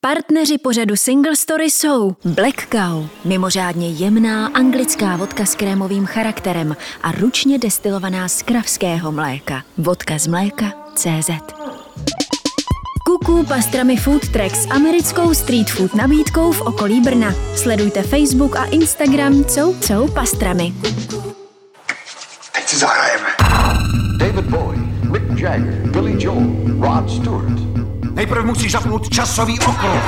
Partneři pořadu Single Story jsou Black Cow, mimořádně jemná anglická vodka s krémovým charakterem a ručně destilovaná z kravského mléka. Vodka z mléka.cz. Kuku Pastrami Food Truck s americkou street food nabídkou v okolí Brna. Sledujte Facebook a Instagram Cou Pastrami. Teď si zahrajeme. David Bowie, Mick Jagger, Billy Joel, Rod Stewart. Nejprve musíš zapnout časový okruh.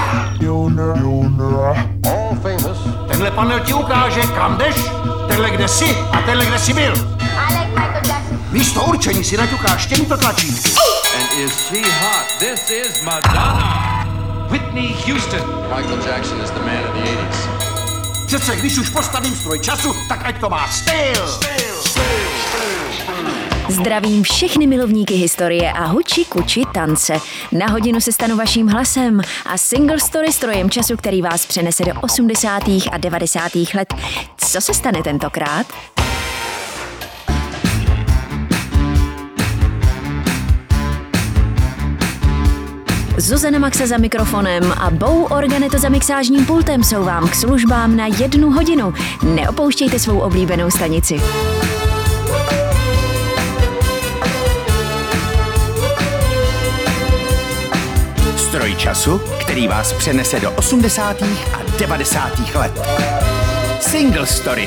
All famous. Tenhle panel ti ukáže, kam jdeš, tenhle kde jsi a tenhle kde jsi byl. Místo určení si naťukáš těmito tlačítky. And is she hot? This is Madonna. Whitney Houston. Michael Jackson is the man of the 80s. Přece když už postavím stroj času, tak ať to má styl. Zdravím všechny milovníky historie a huči kuči tance. Na hodinu se stanu vaším hlasem a Single Story strojem času, který vás přenese do 80. a 90. let. Co se stane tentokrát? Zuzana Maxa za mikrofonem a Bou Organeto za mixážním pultem jsou vám k službám na 1 hodinu. Neopouštějte svou oblíbenou stanici. Stroj času, který vás přenese do 80. a 90. let. Single Story.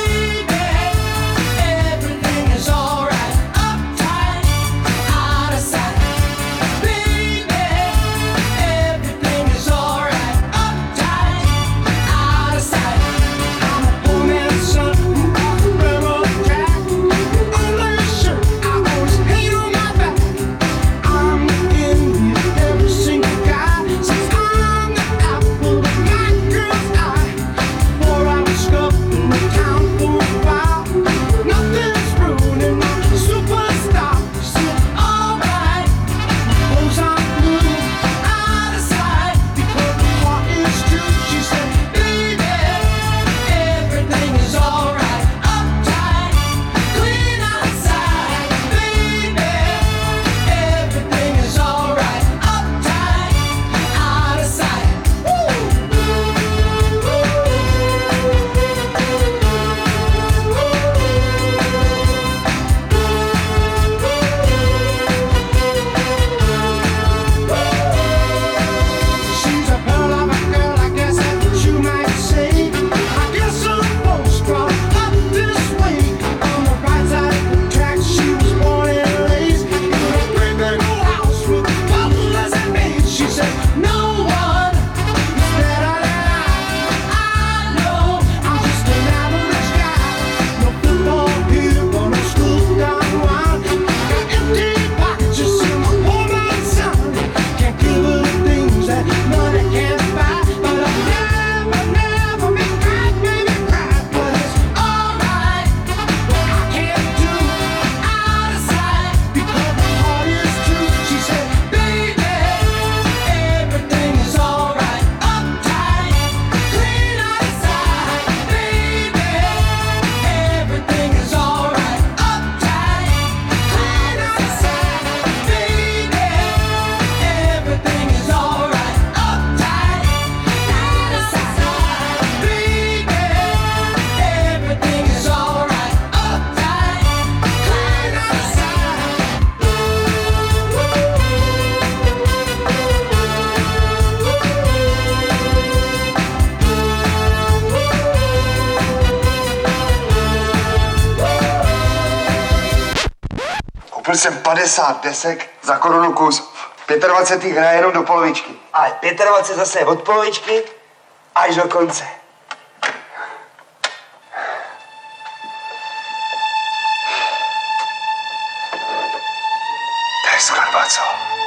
Koupil jsem 50 desek za korunu kus. 25. hraje jenom do polovičky. Ale 25 zase od polovičky až do konce. To je skladba, co?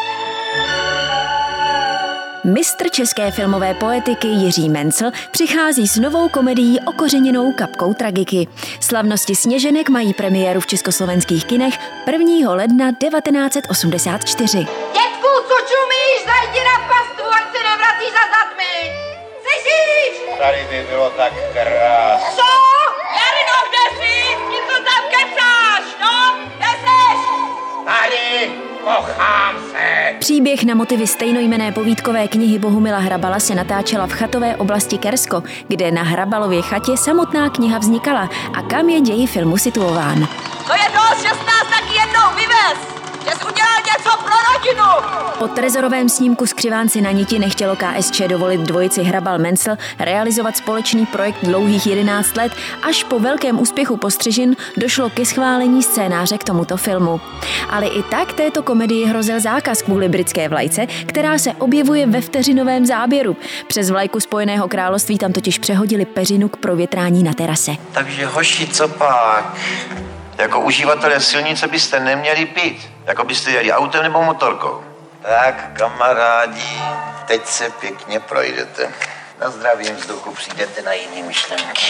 Mistr české filmové poetiky Jiří Mencl přichází s novou komedií okořeněnou kapkou tragiky. Slavnosti Sněženek mají premiéru v československých kinech 1. ledna 1984. Dětku, co čumíš? Zajdi na pastu, ať se nevrací za zadmi! Slyšíš? Tady by bylo tak krásné. Co? Jarino, kde jsi? Ty to tam kecáš, no? Kde seš? Tady, kochám se. Příběh na motivy stejnojmenné povídkové knihy Bohumila Hrabala se natáčela v chatové oblasti Kersko, kde na Hrabalově chatě samotná kniha vznikala a kam je děj filmu situován. To je dost, že jsi nás taky jednou vyvez! Že jsi udělal něco pro rodinu! Po trezorovém snímku Skřivánci na niti nechtělo KSČ dovolit dvojici Hrabal-Mencel realizovat společný projekt dlouhých 11 let. Až po velkém úspěchu Postřižin došlo ke schválení scénáře k tomuto filmu. Ale i tak této komedii hrozil zákaz kvůli britské vlajce, která se objevuje ve vteřinovém záběru. Přes vlajku Spojeného království tam totiž přehodili peřinu k provětrání na terase. Takže hoši, co pak? Jako uživatelé silnice byste neměli pít. Jako byste jeli autem nebo motorkou. Tak, kamarádi, teď se pěkně projdete. Na zdravým vzduchu přijdete na jiné myšlenky.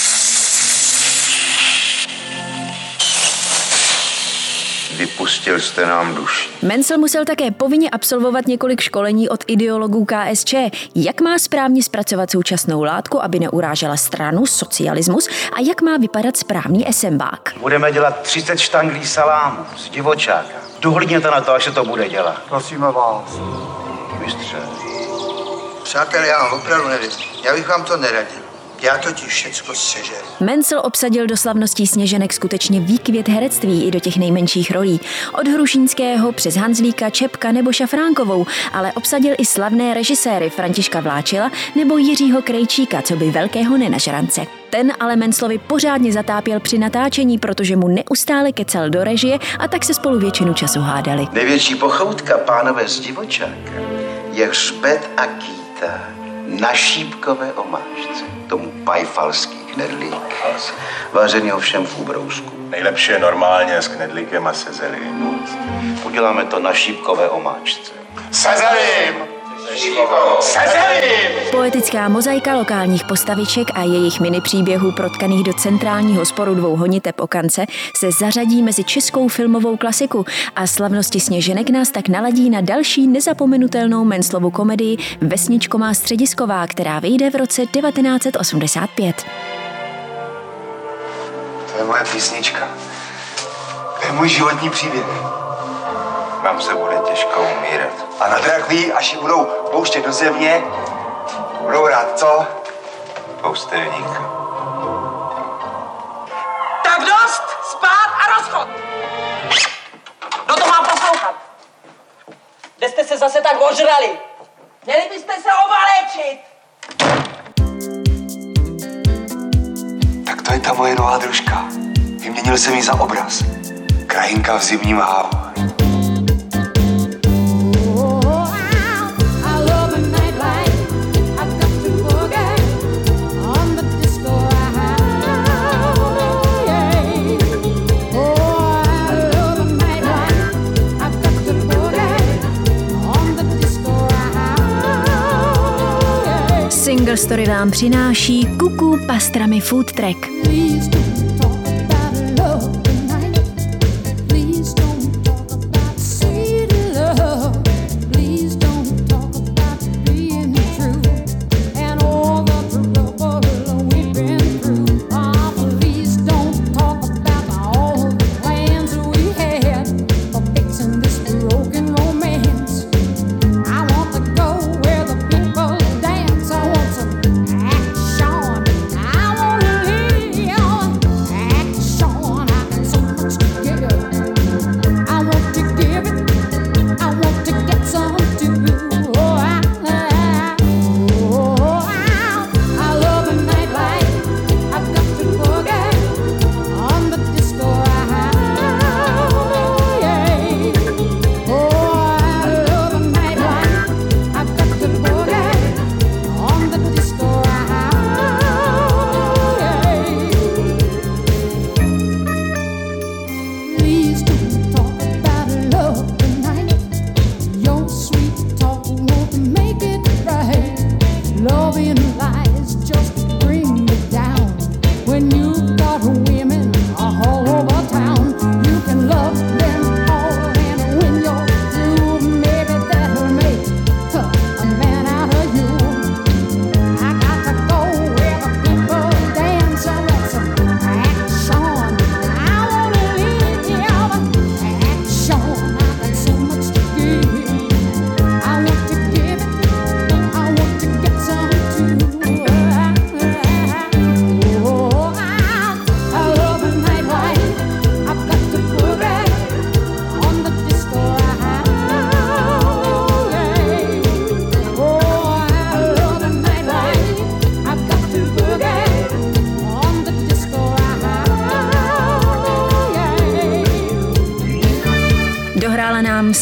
Vypustil jste nám duši. Mencel musel také povinně absolvovat několik školení od ideologů KSČ, jak má správně zpracovat současnou látku, aby neurážela stranu, socialismus a jak má vypadat správný esembák. Budeme dělat 30 štanglí salámu z divočáka. Dohlídněte na to, až se to bude dělat. Prosíme vás. Mistře. Přátelé, já opravdu nevím. Já bych vám to neradil. Já totiž všecko sežeru. Mencel obsadil do slavností Sněženek skutečně výkvět herectví i do těch nejmenších rolí. Od Hrušínského přes Hanzlíka, Čepka nebo Šafránkovou, ale obsadil i slavné režiséry Františka Vláčila nebo Jiřího Krejčíka, co by velkého nenažrance. Ten ale Menclovi pořádně zatápěl při natáčení, protože mu neustále kecal do režie a tak se spolu většinu času hádali. Největší pochoutka, pánové z divočáka, je hřbet a kýta na šípkové omáčce. Tomu pajfalský knedlík, vážený ovšem v ubrousku. Nejlepší je normálně s knedlíkem a se zelím. Uděláme to na šípkové omáčce. Se zelím! Se zelím! Poetická mozaika lokálních postaviček a jejich minipříběhů protkaných do centrálního sporu dvou honiteb o kance se zařadí mezi českou filmovou klasiku a slavnosti Sněženek nás tak naladí na další nezapomenutelnou Menclovu komedii Vesničko má středisková, která vyjde v roce 1985. To je moje písnička. To je můj životní příběh. Vám se bude těžko umírat. A na drakví, až ji budou pouštět do země, budou rád co? Poustevník. Tak dost! Spát a rozchod! Kdo to má poslouchat? Kde jste se zase tak ožrali? Měli byste se ovaléčit! Tak to je ta moje nová družka. Vyměnil jsem ji za obraz. Krajinka v zimním hávu. Single Story vám přináší Kuku pastrami Food Track.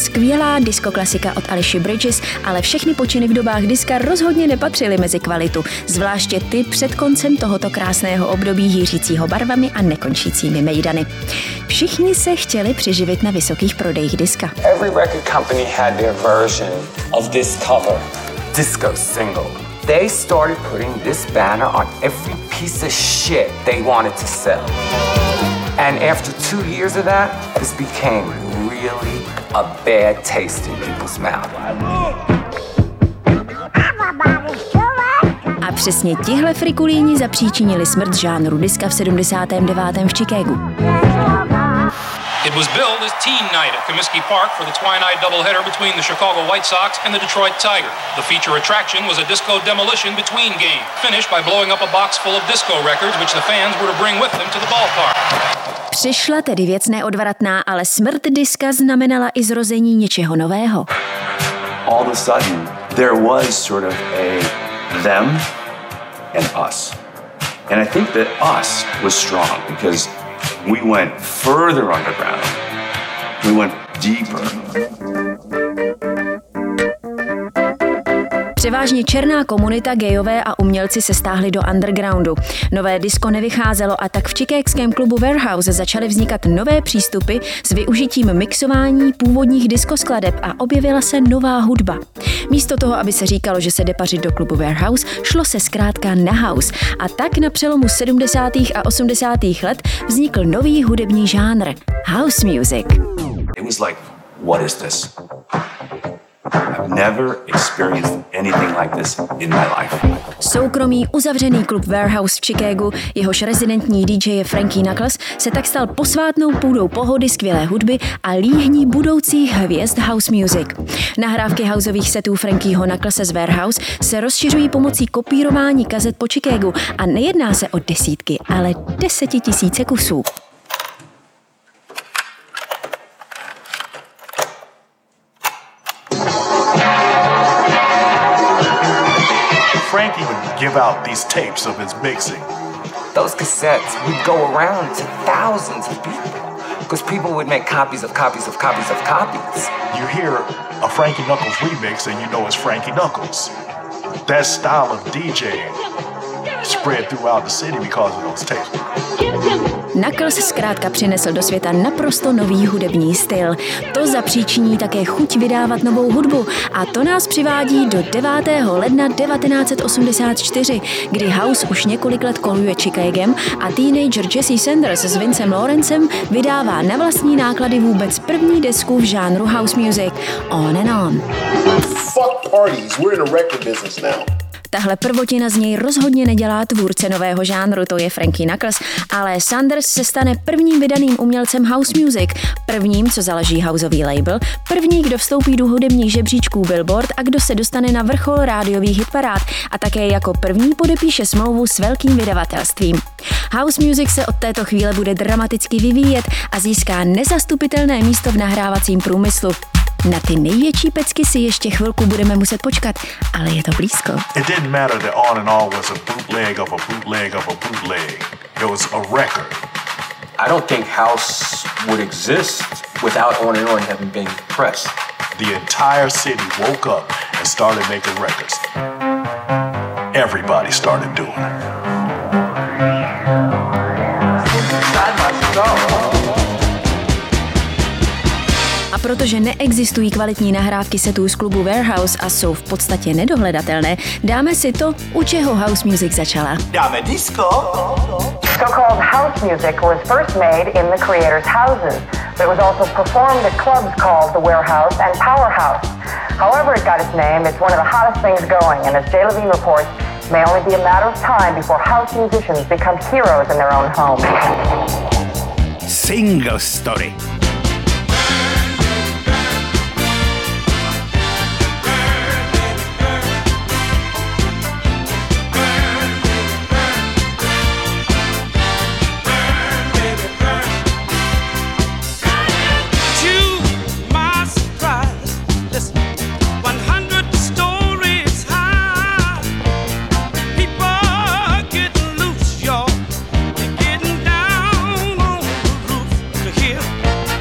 skvělá diskoklasika od Alicia Bridges, ale všechny počiny v dobách diska rozhodně nepatřily mezi kvalitu, zvláště ty před koncem tohoto krásného období hýřícího barvami a nekončícími mejdany. Všichni se chtěli přiživit na vysokých prodejích diska. Every record company had their version of this cover, disco single. They started putting this banner on every piece of shit they wanted to sell. And after 2 years of that, this became really a bad taste in people's mouth. A přesně tihle frikulíni zapříčinili smrt žánru diska v 79. v Chicagu. It was billed as Teen Night at Comiskey Park for the twilight doubleheader between the Chicago White Sox and the Detroit Tigers. The feature attraction was a disco demolition between games, finished by blowing up a box full of disco records which the fans were to bring with them to the ballpark. Přišla tedy věc neodvratná, ale smrt diska znamenala i zrození něčeho nového. All of a sudden, there was sort of a them and us. And I think that us was strong because we went further underground. We went deeper. Převážně černá komunita, gejové a umělci se stáhli do undergroundu. Nové disko nevycházelo a tak v chicagském klubu Warehouse začaly vznikat nové přístupy s využitím mixování původních diskoskladeb a objevila se nová hudba. Místo toho, aby se říkalo, že se jde pařit do klubu Warehouse, šlo se zkrátka na house. A tak na přelomu 70. a 80. let vznikl nový hudební žánr – house music. It was like, what is this? I've never experienced anything like this in my life. Soukromý uzavřený klub Warehouse v Chicagu, jehož rezidentní DJ je Frankie Knuckles, se tak stal posvátnou půdou pohody, skvělé hudby a líhní budoucích hvězd house music. Nahrávky houseových setů Frankieho Knucklese z Warehouse se rozšiřují pomocí kopírování kazet po Chicagu a nejedná se o desítky, ale 10 000 kusů. Frankie would give out these tapes of his mixing. Those cassettes would go around to thousands of people because people would make copies of copies of copies of copies. You hear a Frankie Knuckles remix and you know it's Frankie Knuckles. That style of DJing spread throughout the city because of those tapes. Knuckles zkrátka přinesl do světa naprosto nový hudební styl. To zapříčiní také chuť vydávat novou hudbu a to nás přivádí do 9. ledna 1984, kdy house už několik let koluje Chicagem a teenager Jesse Sanders s Vincem Lawrencem vydává na vlastní náklady vůbec první desku v žánru house music On and On. Fuck parties, we're in a record business now. Tahle prvotina z něj rozhodně nedělá tvůrce nového žánru, to je Frankie Knuckles, ale Sanders se stane prvním vydaným umělcem house music, prvním, co založí houseový label, první, kdo vstoupí do hudebních žebříčků Billboard a kdo se dostane na vrchol rádiových hitparád a také jako první podepíše smlouvu s velkým vydavatelstvím. House music se od této chvíle bude dramaticky vyvíjet a získá nezastupitelné místo v nahrávacím průmyslu. Na ty největší pecky si ještě chvilku budeme muset počkat, ale je to blízko. It didn't matter that On and On was a bootleg of a bootleg of a bootleg. It was a record. I don't think house would exist without On and On having been pressed. The entire city woke up and started making records. Everybody started doing it. A protože neexistují kvalitní nahrávky setů z klubu Warehouse a jsou v podstatě nedohledatelné, dáme si to, u čeho house music začala. Dáme disco. So-called house music was first made in the creators' houses, but it was also performed at clubs called the Warehouse and Powerhouse. However it got its name, it's one of the hottest things going, and as Jay Levine reports, it may only be a matter of time before house musicians become heroes in their own home. Single Story. Here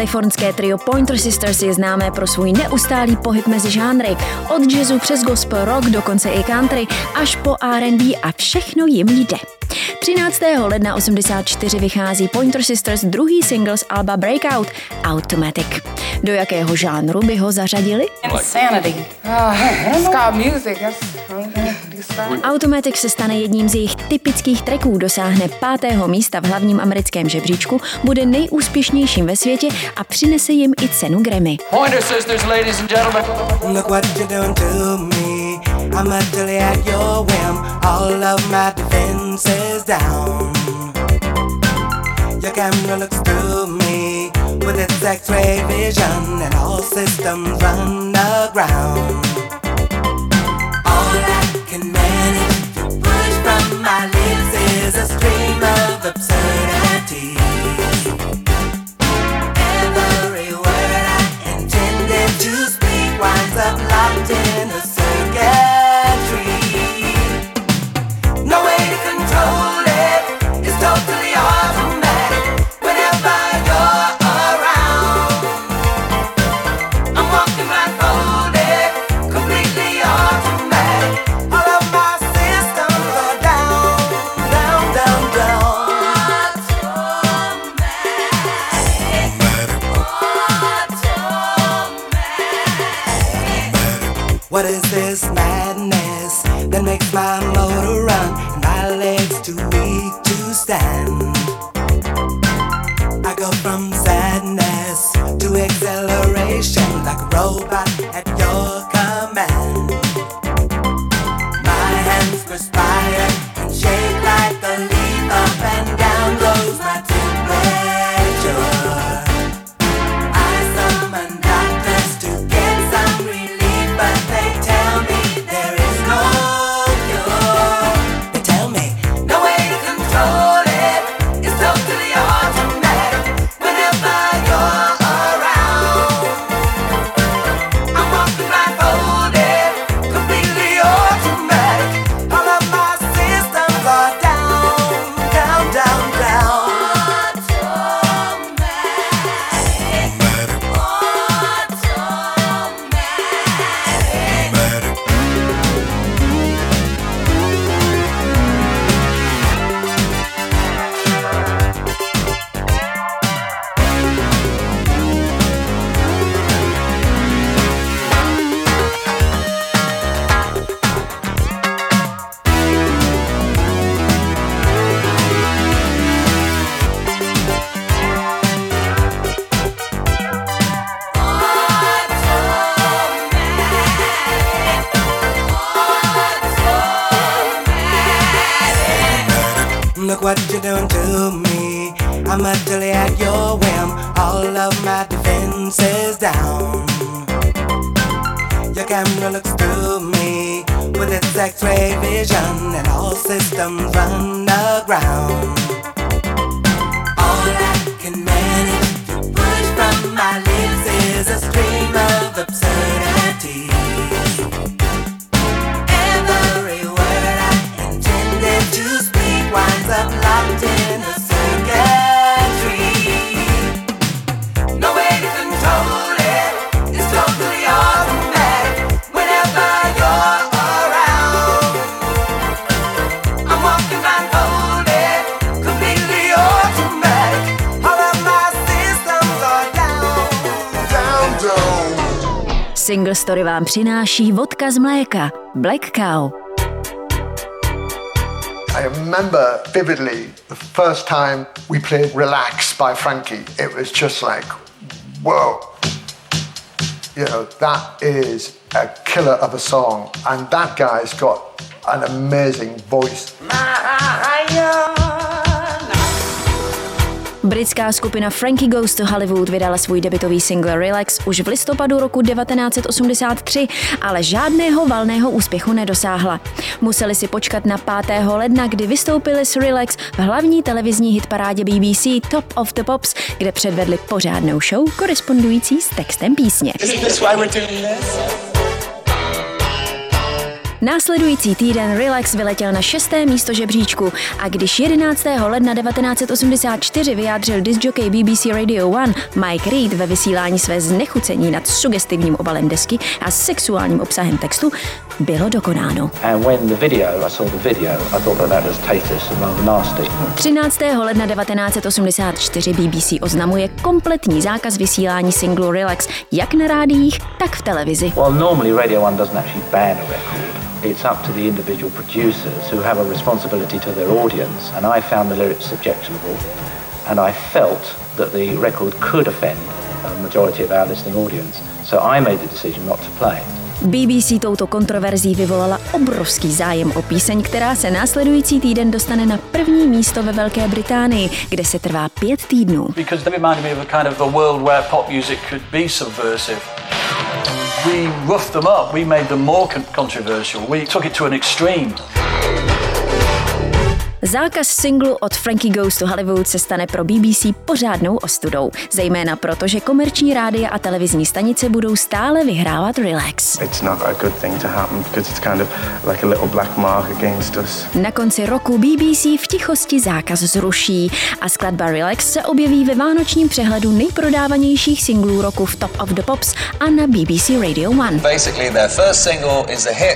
Kalifornské trio Pointer Sisters je známé pro svůj neustálý pohyb mezi žánry, od jazzu přes gospel rock, dokonce i country, až po R&B a všechno jim jde. 13. ledna 1984 vychází Pointer Sisters druhý single z alba Breakout, Automatic. Do jakého žánru by ho zařadili? Insanity. Ska music. Automatic se stane jedním z jejich typických tracků, dosáhne 5. místa v hlavním americkém žebříčku, bude nejúspěšnějším ve světě a přinese jim i cenu Grammy. Pointer Sisters, ladies and gentlemen. Look what you're doing to me. I'm utterly at your whim. All of my defenses down. Your camera looks through me with its X-ray vision, and all systems run aground. All I can manage to push from my lips is a stream of absurdity. Every word I intended to speak winds up locked in a circuitry. No way to control it, it's totally automatic. Whenever you're around, I'm walking blindfolded, completely automatic. All of my systems are down, down, down, down. What is this madness that makes my motor run and my legs too weak to stand? I go from sadness to acceleration like a robot at your command. My hands perspire and shake like a leaf. Up and down goes my temperature. I summon doctors to get some relief, but they tell me there is no cure. They tell me no way to control it, it's totally automatic. Whenever you're around, I'm walking blindfolded, completely automatic. All of my systems are down, down, down, down. Look what you're doing to me. I'm utterly at your whim. All of my defenses down. Your camera looks through me with its X-ray vision, and all systems run aground. All I can manage to push from my lips is a stream of absurdity. Every word I intended to speak winds up locked in a circuitry. No way to control it, it's totally automatic. Whenever you're around, I'm walking blindfolded, completely automatic. All of my systems are down, down, down. Single Story vám přináší vodka z mléka, Black Cow. I remember vividly the first time we played Relax by Frankie. It was just like, whoa. You know, that is a killer of a song. And that guy's got an amazing voice. Britská skupina Frankie Goes to Hollywood vydala svůj debutový single Relax už v listopadu roku 1983, ale žádného valného úspěchu nedosáhla. Museli si počkat na 5. ledna, kdy vystoupili s Relax v hlavní televizní hitparádě BBC Top of the Pops, kde předvedli pořádnou show korespondující s textem písně. Následující týden Relax vyletěl na 6. místo žebříčku a když 11. ledna 1984 vyjádřil discjockey BBC Radio 1 Mike Reed ve vysílání své znechucení nad sugestivním obalem desky a sexuálním obsahem textu, bylo dokonáno. 13. ledna 1984 BBC oznamuje kompletní zákaz vysílání singlu Relax jak na rádiích, tak v televizi. Well, normally Radio 1 doesn't actually ban a record. It's up to the individual producers who have a responsibility to their audience, and I found the lyrics objectionable, and I felt that the record could offend a majority of our listening audience, so I made the decision not to play it. BBC touto kontroverzí vyvolala obrovský zájem o píseň, která se následující týden dostane na první místo ve Velké Británii, kde se trvá 5 týdnů. Because they reminded me of a kind of a world where pop music could be subversive. We roughed them up, we made them more controversial, we took it to an extreme. Zákaz singlu od Frankie Goes to Hollywood se stane pro BBC pořádnou ostudou, zejména proto, že komerční rádia a televizní stanice budou stále vyhrávat Relax. It's not a good thing to happen because it's kind of like a little black mark against us. Na konci roku BBC v tichosti zákaz zruší a skladba Relax se objeví ve vánočním přehledu nejprodávanějších singlů roku v Top of the Pops a na BBC Radio 1. Basically their first single is a hit.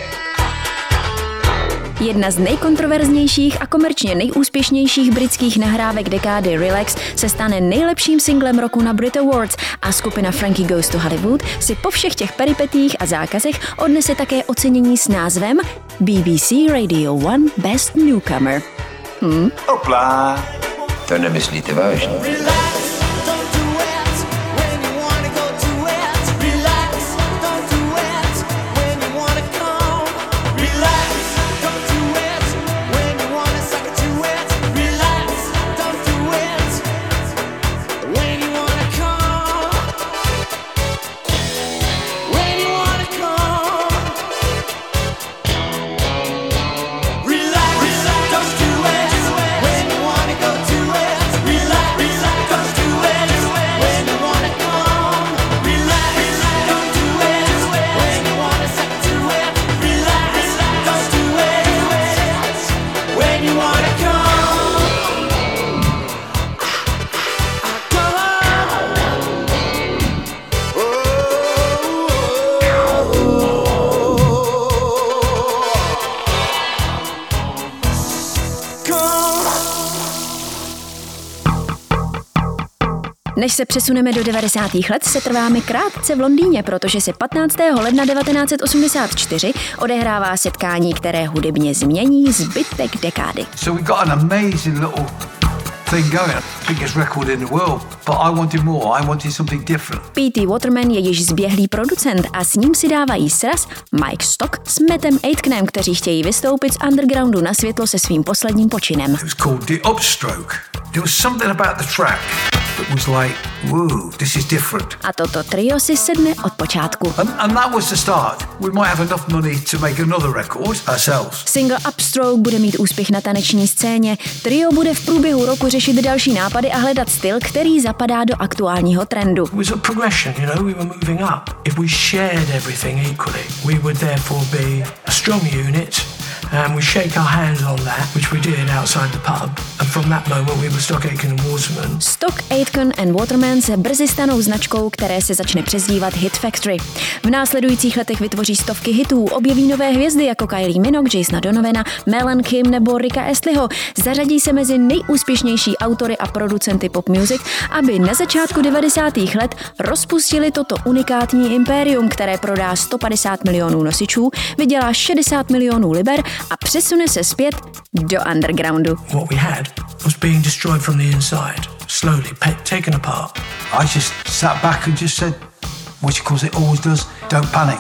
Jedna z nejkontroverznějších a komerčně nejúspěšnějších britských nahrávek dekády Relax se stane nejlepším singlem roku na Brit Awards a skupina Frankie Goes to Hollywood si po všech těch peripetích a zákazech odnese také ocenění s názvem BBC Radio 1 Best Newcomer. Hopla. To nemyslíte vážně? Než se přesuneme do 90. let, se trváme krátce v Londýně, protože se 15. ledna 1984 odehrává setkání, které hudebně změní zbytek dekády. So we got an amazing little thing going. Biggest record in the world, but I wanted more. I wanted something different. P.T. Waterman je již zběhlý producent a s ním si dávají sraz Mike Stock s Mattem Aitkenem, kteří chtějí vystoupit z undergroundu na světlo se svým posledním počinem. It was called The Upstroke. There was something about the track that was like, whoa, this is different. A toto trio si sedne od počátku. And that was the start. We might have enough money to make another record ourselves. Single Upstroke bude mít úspěch na taneční scéně. Trio bude v průběhu roku řešit další nápady a hledat styl, který zapadá do aktuálního trendu. It was a progression, you know, we were moving up. If we shared everything equally, we would therefore be a strong unit. And we shake our hands on that, which we did outside the pub. And from that moment we were Stock, Aitken and Waterman. Stock, Aitken and Waterman se brzy stanou značkou, které se začne přezdívat Hit Factory. V následujících letech vytvoří stovky hitů, objeví nové hvězdy jako Kylie Minogue, Jasona Donovana, Mel Kim nebo Ricka Astleyho. Zařadí se mezi nejúspěšnější autory a producenty pop music, aby na začátku 90. let rozpustili toto unikátní impérium, které prodá 150 milionů nosičů, vydělá 60 milionů liber a přesune se zpět do undergroundu. What we had was being destroyed from the inside, slowly taken apart. I just sat back and just said, which of course it always does, don't panic.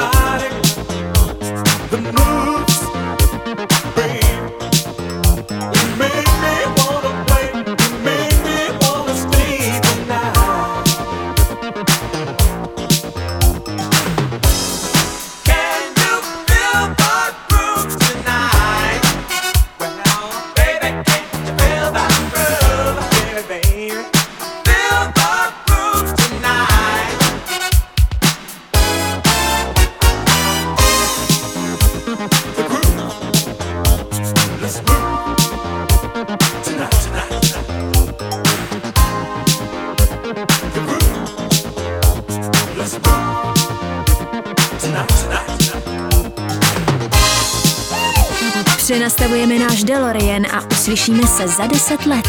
Přenastavujeme náš DeLorean a uslyšíme se za 10 let.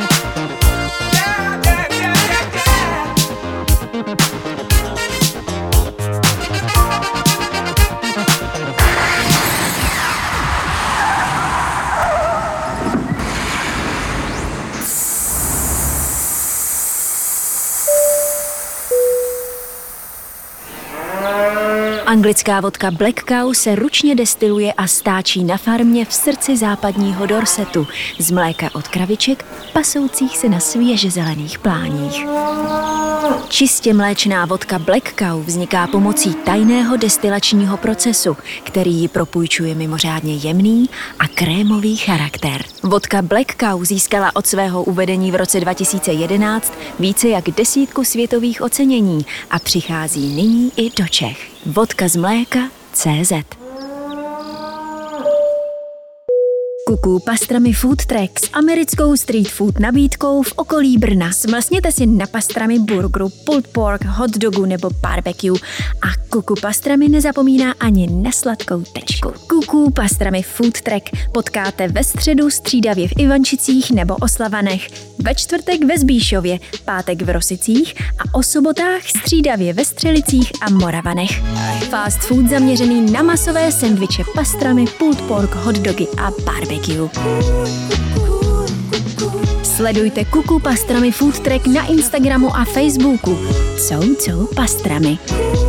Anglická vodka Black Cow se ručně destiluje a stáčí na farmě v srdci západního Dorsetu z mléka od kraviček pasoucích se na svěže zelených pláních. Čistě mléčná vodka Black Cow vzniká pomocí tajného destilačního procesu, který ji propůjčuje mimořádně jemný a krémový charakter. Vodka Black Cow získala od svého uvedení v roce 2011 více jak 10 světových ocenění a přichází nyní i do Čech. Vodka z mléka CZ. Kuku Pastrami Food Truck s americkou street food nabídkou v okolí Brna. Smlsněte si na pastrami burgeru, pulled pork, hot dogu nebo barbecue a Kuku Pastrami nezapomíná ani na sladkou tečku. Kuku Pastrami Food Truck potkáte ve středu střídavě v Ivančicích nebo Oslavanech, ve čtvrtek ve Zbíšově, pátek v Rosicích a o sobotách střídavě ve Střelicích a Moravanech. Fast food zaměřený na masové sendviče, pastrami, pulled pork, hot dogy a barbecue. Sledujte Kuku Pastrami Food Truck na Instagramu a Facebooku. Jsou pastrami.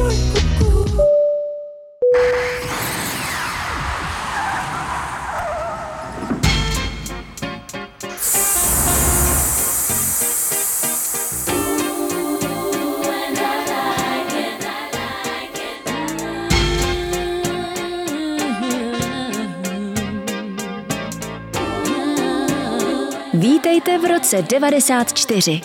Vítejte v roce 94.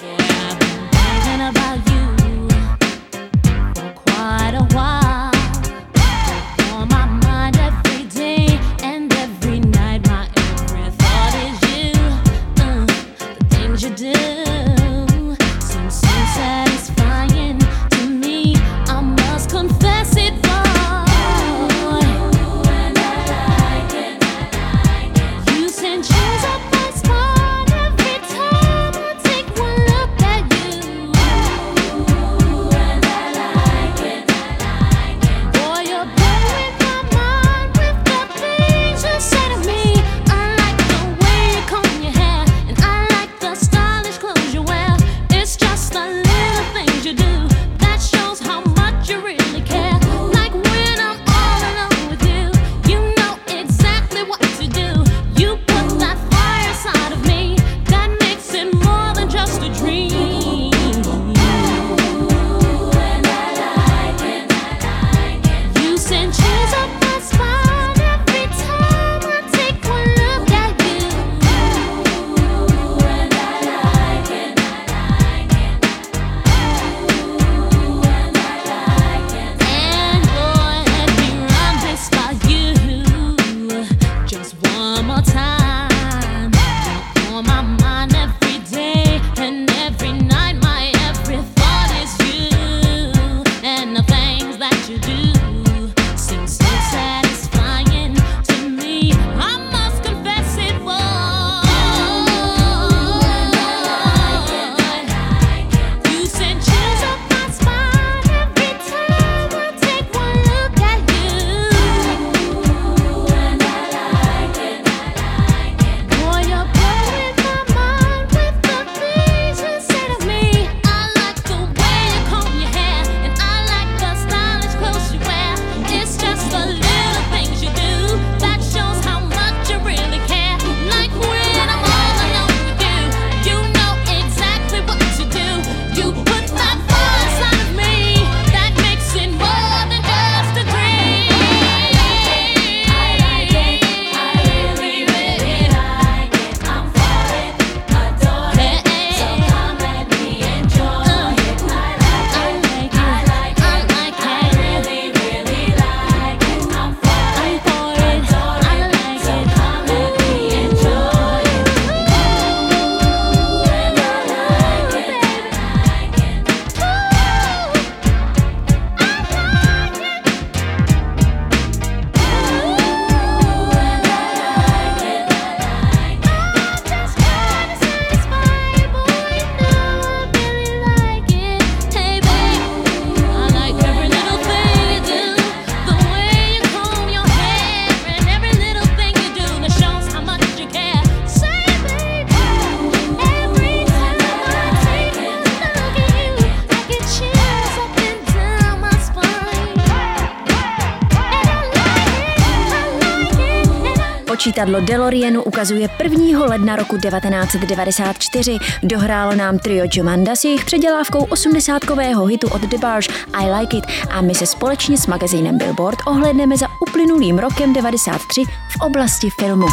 Počítadlo DeLoreanu ukazuje 1. ledna roku 1994. Dohrálo nám trio Jomanda s jejich předělávkou 80kového hitu od DeBarge I Like It a my se společně s magazínem Billboard ohlédneme za uplynulým rokem 93 v oblasti filmu.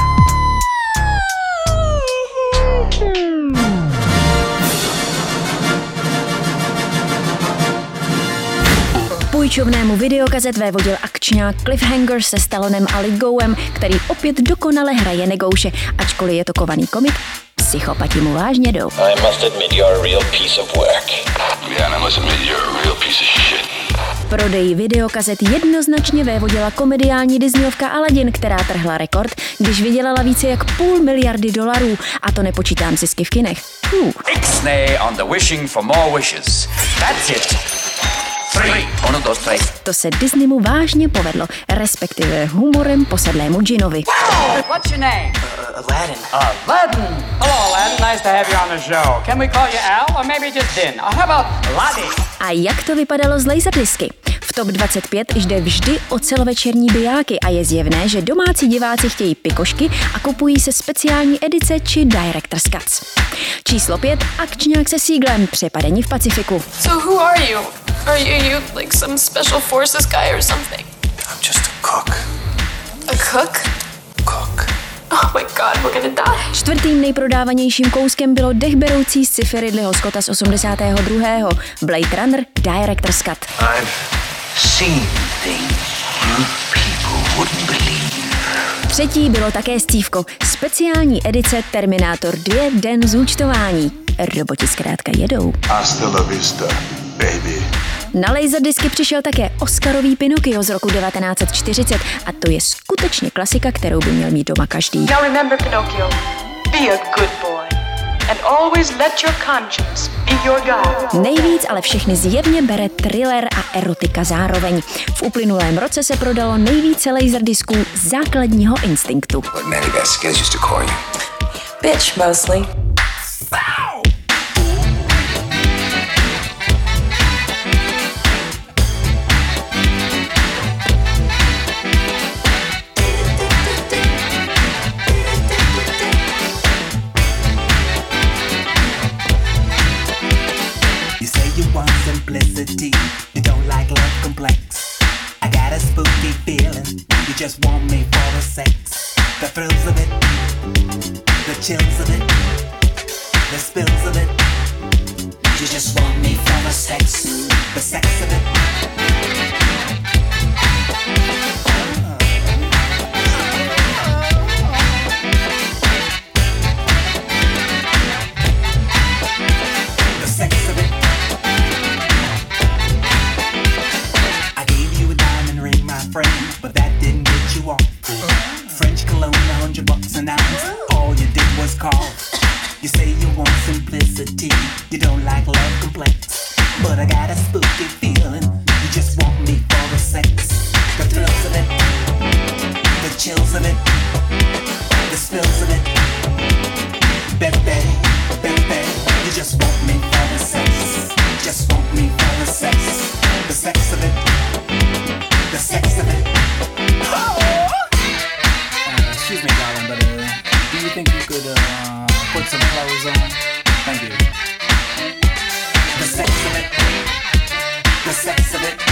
Půjčovnému videokazet vévodil akčňák Cliffhanger se Stallonem a Lithgowem, který opět dokonale hraje negouše, ačkoliv je to kovaný komik, psychopati mu vážně jdou. I must admit you're a real piece of work. Yeah, I must admit you're a real piece of shit. Prodeji videokazet jednoznačně vévodila komediální Disneyovka Aladdin, která trhla rekord, když vydělala více jak $500 miliardy, a to nepočítám zisky v kinech. Ixnay on the wishing for more wishes. That's it. 3. 1, 2, 3. To se Disneymu vážně povedlo, respektive humorem posedlému džinovi. What's your name? Aladdin. Aladdin. Hello, Aladdin. Nice to have you on the show. Can we call you Al or maybe just Din? How about Aladdin? A jak to vypadalo z laserdisky? V TOP 25 jde vždy o celovečerní bijáky a je zjevné, že domácí diváci chtějí pikošky a kupují se speciální edice či Director's Cuts. Číslo 5. Akčňák se Siegelem, Přepadení v Pacifiku. So who are you? Are you like some special forces guy or something? I'm just a cook. A cook? Cook. Oh my god, we're gonna die. Čtvrtým nejprodávanějším kouskem bylo dechberoucí sci-fi Ridleyho Scotta z 82. Blade Runner Director's Cut. I've seen things you people wouldn't believe. Třetí bylo také scívko, speciální edice Terminátor 2 Den zúčtování. Roboti zkrátka jedou. Hasta la vista, baby. Na laserdisky přišel také Oscarový Pinocchio z roku 1940 a to je skutečně klasika, kterou by měl mít doma každý. Now remember, Pinocchio, be a good boy and always let your conscience be your guide. Nejvíc ale všechny zjevně bere thriller a erotika zároveň. V uplynulém roce se prodalo nejvíce laserdisků Základního instinktu. What Manny Vasquez used to call you? Bitch, mostly. Simplicity, you don't like love complex. I got a spooky feeling, you just want me for the sex. The thrills of it, the chills of it, the spills of it. You just want me for the sex of it. But that didn't get you off. French cologne, $100 an ounce. All you did was call. You say you want simplicity, you don't like love complex. But I got a spooky feeling, you just want me for the sex. The thrills of it, the chills of it, the spills of it. Baby, baby, you just want me for the sex. Just want me for the sex. The sex of it. The sex of it. Excuse me, darling, but do you think you could put some clothes on? Thank you. The sex of it. The sex of it.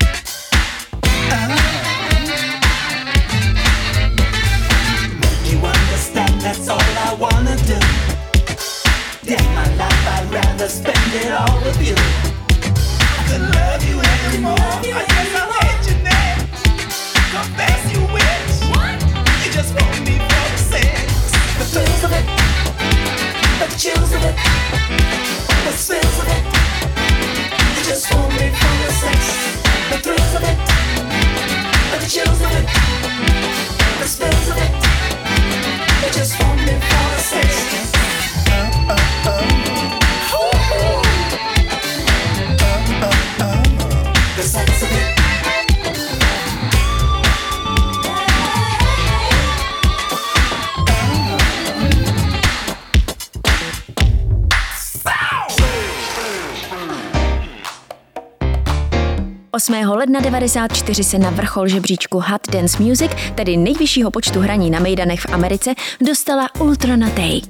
Don't you understand? That's all I wanna do. Damn my life, I'd rather spend it all with you. I couldn't love you anymore. I guess I'll hate you now. Confess you wish. You just want me for the sex. The thrills of it, the chills of it, the spills of it. You just want me for the sex. The thrills of it, the chills of it, the spills of it. You just want me for the sex. The sex of it. 8. ledna 1994 se na vrchol žebříčku Hot Dance Music, tedy nejvyššího počtu hraní na mejdanech v Americe, dostala Ultra Naté.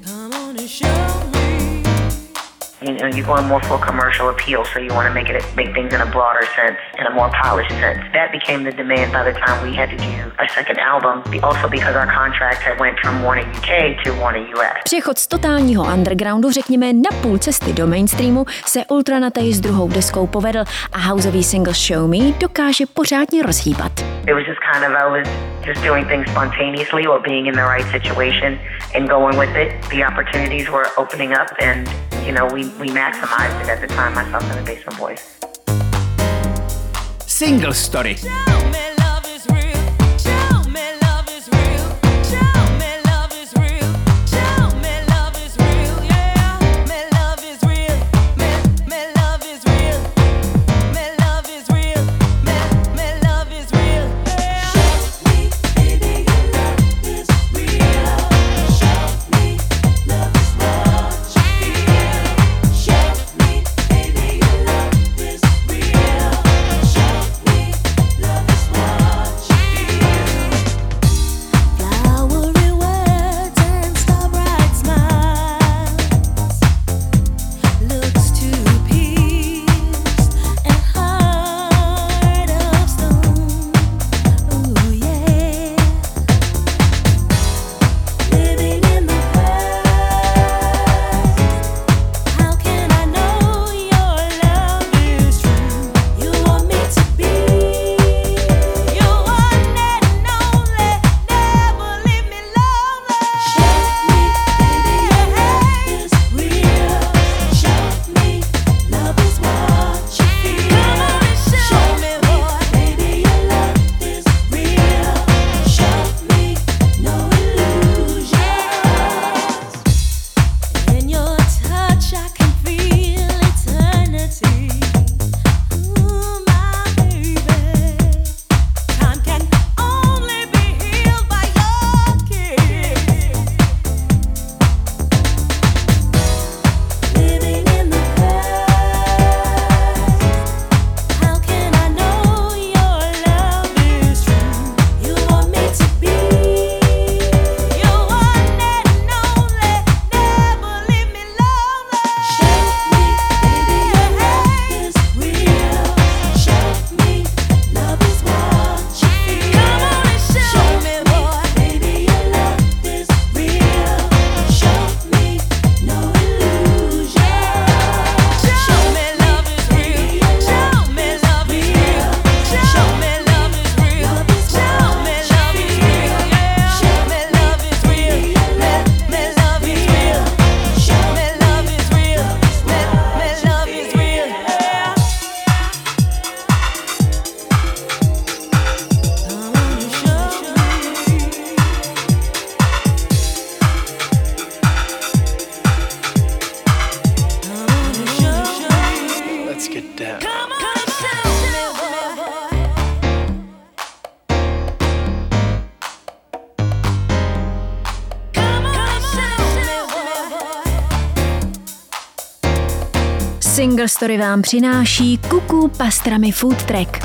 You're going more for commercial appeal, so you want to make things in a broader sense, in a more polished sense. That became the demand by the time we had to do a second album, also because our contract had went from Warner UK to Warner US. Přechod z totálního undergroundu, řekněme na půl cesty do mainstreamu, se Ultra Naté s druhou deskou povedl a houseový single Show Me dokáže pořádně rozhýbat. It was just kind of, I was just doing things spontaneously or being in the right situation and going with it. The opportunities were opening up and, you know, we maximized it at the time, myself and the Basement Boys. Single Story. Single Story vám přináší Kuku Pastrami Food Track.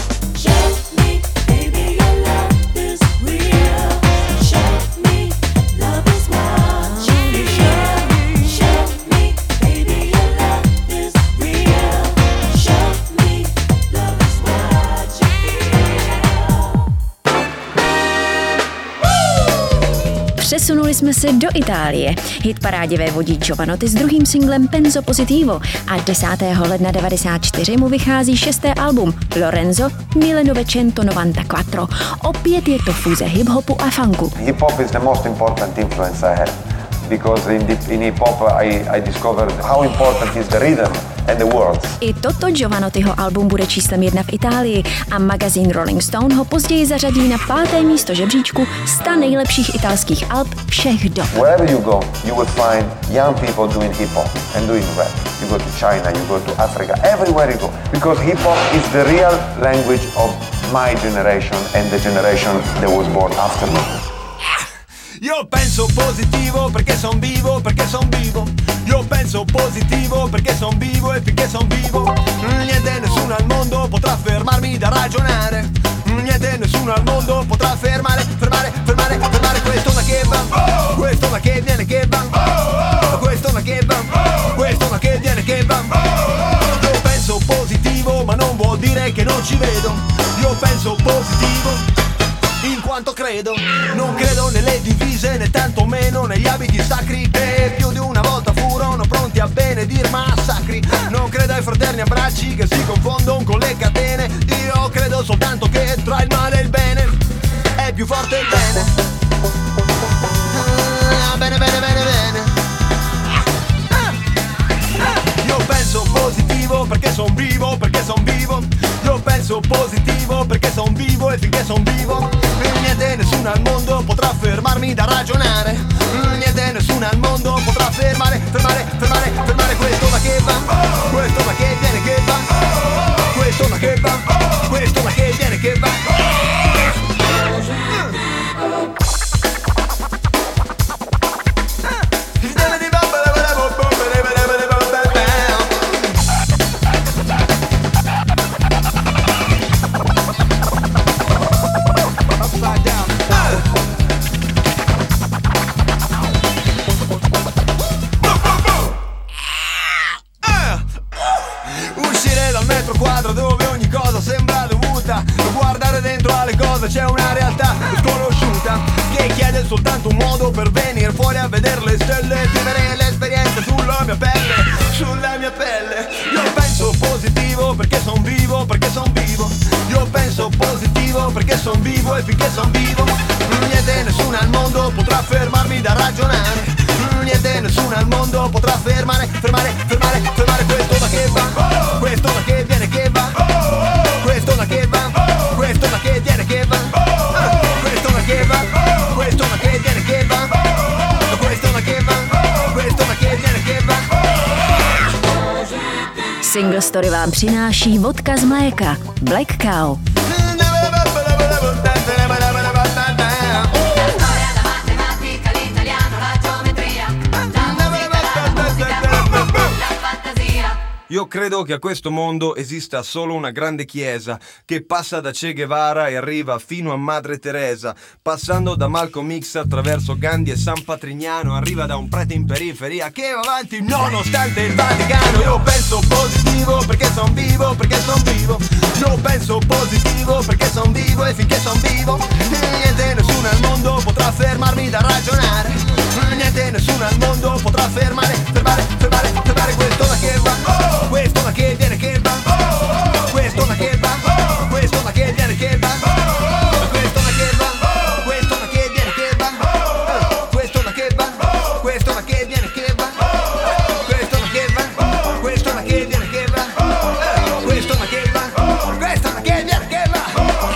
Přesunuli jsme se do Itálie. Hitparádě vévodí Jovanotti s druhým singlem Penso Positivo a 10. ledna 1994 mu vychází 6. album Lorenzo 1994. Opět je to fúze hip-hopu a funku. Hip-hop is the most important influence I have. Because in hip-hop I discovered how important is the rhythm and the words. I toto Jovanottiho album bude číslem 1 v Itálii a magazín Rolling Stone ho později zařadí na 5. místo žebříčku 100 nejlepších italských alb všech dob. Wherever you go, you will find young people doing hip-hop and doing rap. You go to China, you go to Africa, everywhere you go. Because hip-hop is the real language of my generation and the generation that was born after me. Io penso positivo perché son vivo, perché son vivo. Io penso positivo perché son vivo e finché son vivo niente, nessuno al mondo potrà fermarmi da ragionare. Niente, nessuno al mondo potrà fermare questo ma che va, questo ma che viene che va, questo ma che va, questo ma che viene che va. Io penso positivo ma non vuol dire che non ci vedo. Io penso positivo in quanto credo. Non credo nelle divise né tanto meno negli abiti sacri che più di una volta furono pronti a benedir massacri. Non credo ai fraterni abbracci che si confondono con le catene. Io credo soltanto che tra il male e il bene è più forte il bene. Bene, bene, bene, bene. Io penso positivo perché son vivo, perché son vivo. Io penso positivo perché son vivo e finché son vivo niente, nessuno al mondo potrà fermarmi da ragionare. Niente, nessuno al mondo potrà fermare questo ma che va, questo ma che viene che va, questo ma che va, questo ma che viene che va. Dove ogni cosa sembra dovuta, guardare dentro alle cose c'è una realtà sconosciuta che chiede soltanto un modo per venire fuori a vedere le stelle, vivere l'esperienza sulla mia pelle. Io penso positivo perché son vivo, perché son vivo. Io penso positivo perché son vivo e finché son vivo niente, nessuno al mondo potrà fermarmi da ragionare. Niente, nessuno al mondo potrà fermare questo ma che va, questo ma che viene che va, questo ma che va, questo ma che viene che va, questo ma che va, questo ma che viene che va, questo ma che va, questo ma che viene che va. Single Story vám přináší vodka z mléka Black Cow. Io credo che a questo mondo esista solo una grande chiesa che passa da Che Guevara e arriva fino a Madre Teresa, passando da Malcolm X attraverso Gandhi e San Patrignano, arriva da un prete in periferia che va avanti nonostante il Vaticano. Io penso positivo perché son vivo, perché son vivo. Io penso positivo perché son vivo e finché son vivo niente, nessuno al mondo potrà fermarmi da ragionare. Niente, nessuno al mondo potrà fermare questo ma che va, questo ma che viene che va, questo ma che va, questo ma che viene che va, questo ma che va, questo ma che viene che va, questo ma che va, questo ma che viene che va, questo ma che va, questo ma che viene che va, questo ma che va, questo ma che viene che va.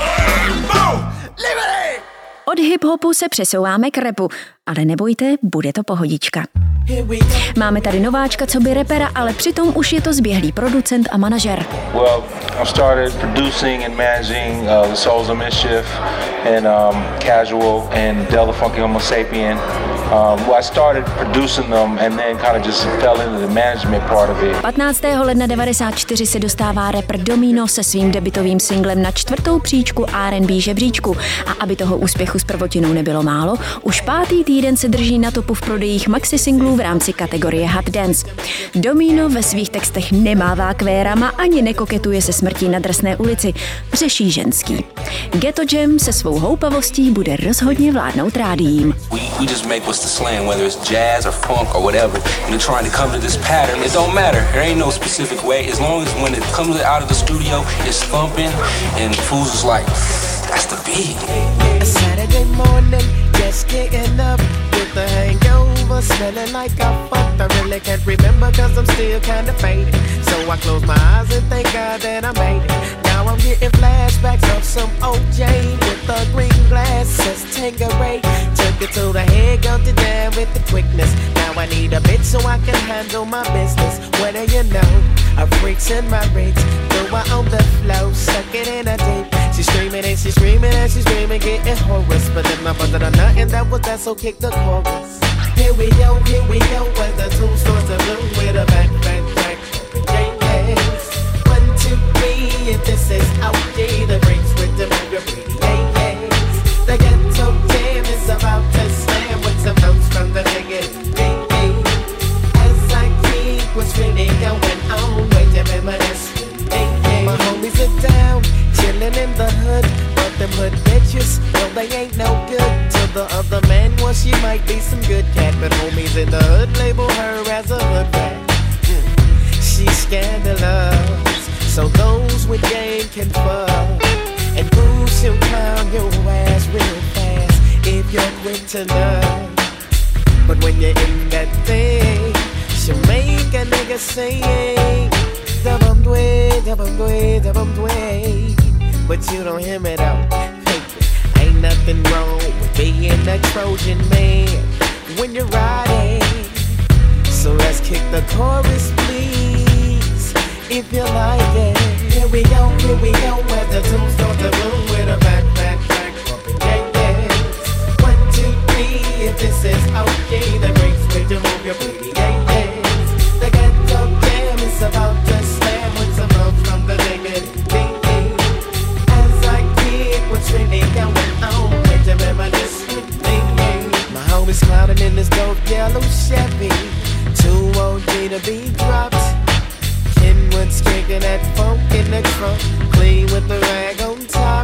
Liberty! Od hip-hopu se přesouváme k rapu, ale nebojte, bude to pohodička. Máme tady nováčka co by rapera, ale přitom už je to zběhlý producent a manažer. Well, I started producing and managing the Souls of Mischief and Casual and Del the Funky Homo Sapien. I started producing them and then kind of just fell into the management part of it. 15. ledna 1994 se dostává rapper Domino se svým debutovým singlem na 4. příčku R&B žebříčku. A aby toho úspěchu s prvotinou nebylo málo, už 5. týden se drží na topu v prodejích maxi singlů v rámci kategorie Hot Dance. Domino ve svých textech nemává kvérama ani nekoketuje se smrtí na drsné ulici, řeší ženský. Ghetto Jam se svou houpavostí bude rozhodně vládnout rádiím. We just make what's the slang, whether it's jazz or funk or whatever, and they're trying to come to this pattern. It don't matter. There ain't no specific way. As long as when it comes out of the studio, it's thumping, and fools is like, that's the beat. A Saturday morning, just getting up with the hangover, smelling like I fucked. I really can't remember 'cause I'm still kinda faded. So I close my eyes and thank God that I made it. Now I'm getting flashbacks of some OJ with the green glasses, Tanqueray. Took till the head got it down with the quickness. Now I need a bit so I can handle my business. What do you know? A freak's in my rings. Throw her on the floor, suck it in a deep. She's screaming and she's screaming and she's screaming, getting hoarse. But then my brother done nothing that was that, so kick the chorus. Here we go, as the tune starts to bloom with a back, yes. 1, 2, 3, if this is out there, the breaks with the move pretty, yes. The ghetto jam is about to slam with some notes from the negative, as I keep what's really going on, wait to reminisce, my homies are down, chillin' in the hood, but them hood bitches, well they ain't no good. To the other man, well she might be some good cat, but homies in the hood label her as a hood rat. She's scandalous, so those with game can fuck. And boo, she'll clown your ass real fast if you're quick to love. But when you're in that thing, she'll make a nigga sing. Dabum-dway, dabum-dway, dabum-dway. But you don't hear me though. Ain't nothing wrong with being a Trojan man when you're riding. So let's kick the chorus, please, if you like it. Here we go, as the tunes start to bloom with a back, bumping, yes. 1, 2, 3, if this is okay, the breaks with you move your booty, yes. The ghetto jam is about to slam with some notes from the negative, as I keep what's really going on, with the reminisce with me. My homies clouding in this dope yellow Chevy. Too OG to be dropped. Kenwood's kicking that funk in the trunk, clean with the rag on top.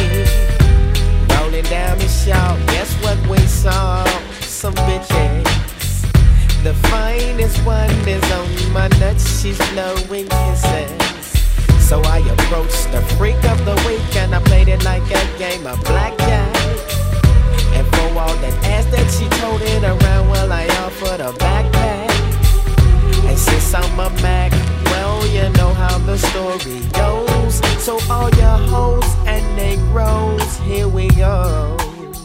Rolling down the shawl, guess what we saw? Some bitches. The finest one is on my nuts, she's blowing kisses. So I approached the freak of the week and I played it like a game of blackjack. And for all that ass that she toted around, well I offered a backpack. And since I'm a Mac, well you know how the story goes. So all your hoes and negros, here we go.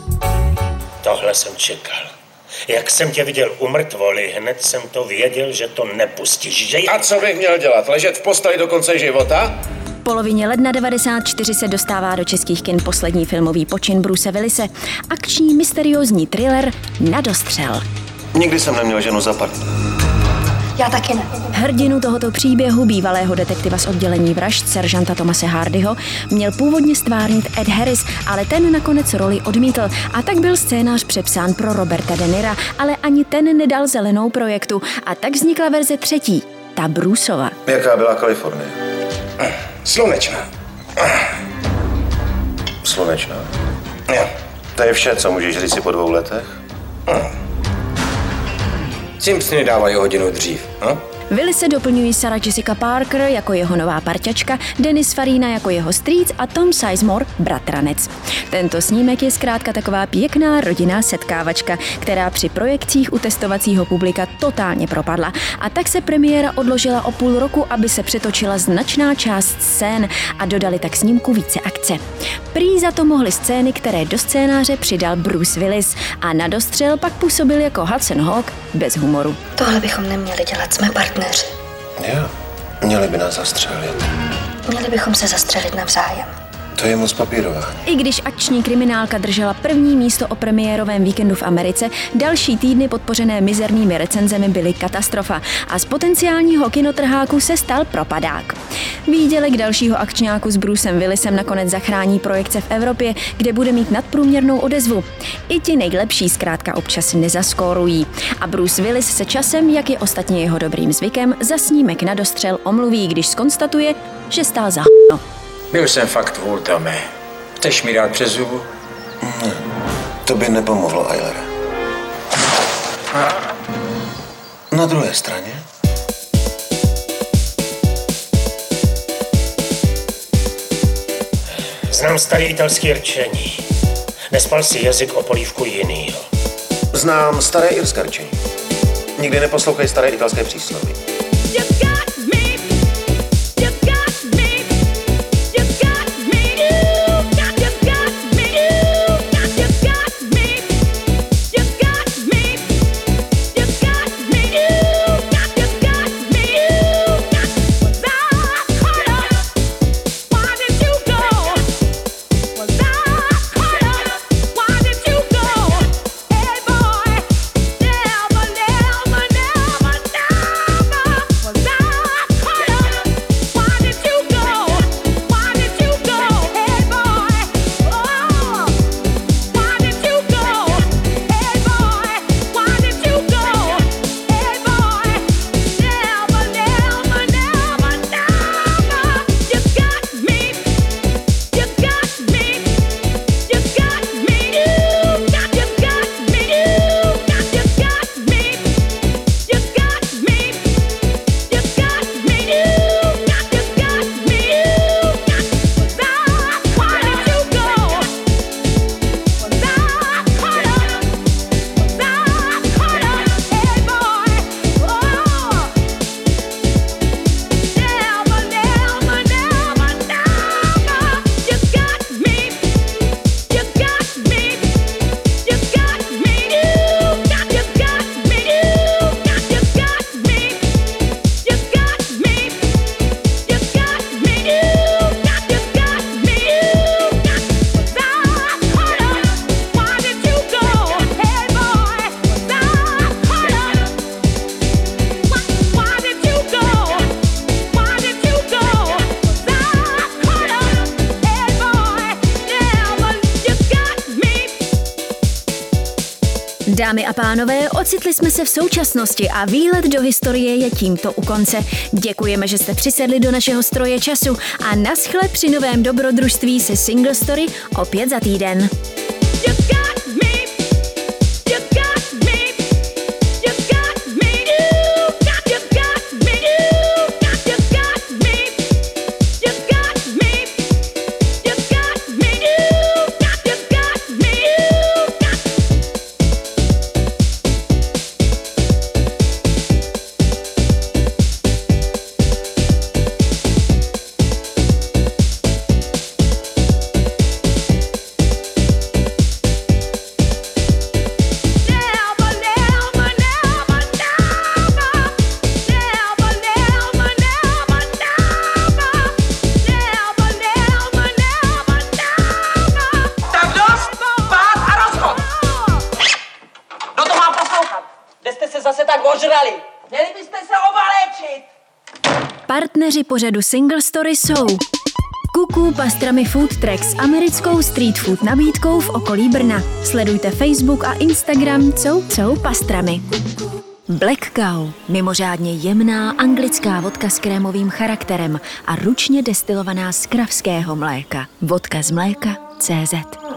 Tohle jsem čekal. Jak jsem tě viděl u mrtvoly, hned jsem to věděl, že to nepustíš, že? A co bych měl dělat? Ležet v posteli do konce života? V polovině ledna 1994 se dostává do českých kin poslední filmový počin Bruce Willise. Akční mysteriózní thriller Na dostřel. Nikdy jsem neměl ženu za partnera. Já taky ne. Hrdinu tohoto příběhu, bývalého detektiva z oddělení vražd seržanta Thomase Hardyho, měl původně stvárnit Ed Harris, ale ten nakonec roli odmítl a tak byl scénář přepsán pro Roberta De Nira, ale ani ten nedal zelenou projektu a tak vznikla verze třetí, ta Bruceova. Jaká byla Kalifornie? Slunečná. Slunečná? Jo. To je vše, co můžeš říct si po 2 letech? Simpsony dávají hodinu dřív, no? Willise doplňují Sarah Jessica Parker jako jeho nová parťačka, Dennis Farina jako jeho strýc a Tom Sizemore, bratranec. Tento snímek je zkrátka taková pěkná rodinná setkávačka, která při projekcích u testovacího publika totálně propadla. A tak se premiéra odložila o půl roku, aby se přetočila značná část scén a dodali tak snímku více akce. Prý za to mohly scény, které do scénáře přidal Bruce Willis a na dostřel pak působil jako Hudson Hawk bez humoru. Tohle bychom neměli dělat, jsme partneři. Jo, měli by nás zastřelit. Měli bychom se zastřelit navzájem. To je moc papírová. I když akční kriminálka držela první místo o premiérovém víkendu v Americe, další týdny podpořené mizernými recenzemi byly katastrofa a z potenciálního kinotrháku se stal propadák. Výdělek dalšího akčňáku s Brucem Willisem nakonec zachrání projekce v Evropě, kde bude mít nadprůměrnou odezvu. I ti nejlepší zkrátka občas nezaskórují. A Bruce Willis se časem, jak je ostatně jeho dobrým zvykem, za snímek Na dostřel omluví, když zkonstatuje, že stál za h***no. Byl jsem fakt vůl, Tome. Chceš mi dát přes zubu? Ne, to by nepomohlo, Eilere. Na druhé straně? Znám starý italský rčení. Nespal si jazyk o polívku jinýho. Znám staré irské rčení. Nikdy neposlouchej staré italské přísloví. Dámy a pánové, ocitli jsme se v současnosti a výlet do historie je tímto u konce. Děkujeme, že jste přisedli do našeho stroje času a naschle při novém dobrodružství se Single Story opět za týden. Partneři pořadu Single Story jsou Kuku Pastrami Food Truck s americkou street food nabídkou v okolí Brna. Sledujte Facebook a Instagram Cou Pastrami. Black Cow, mimořádně jemná anglická vodka s krémovým charakterem a ručně destilovaná z kravského mléka. Vodka z mléka CZ.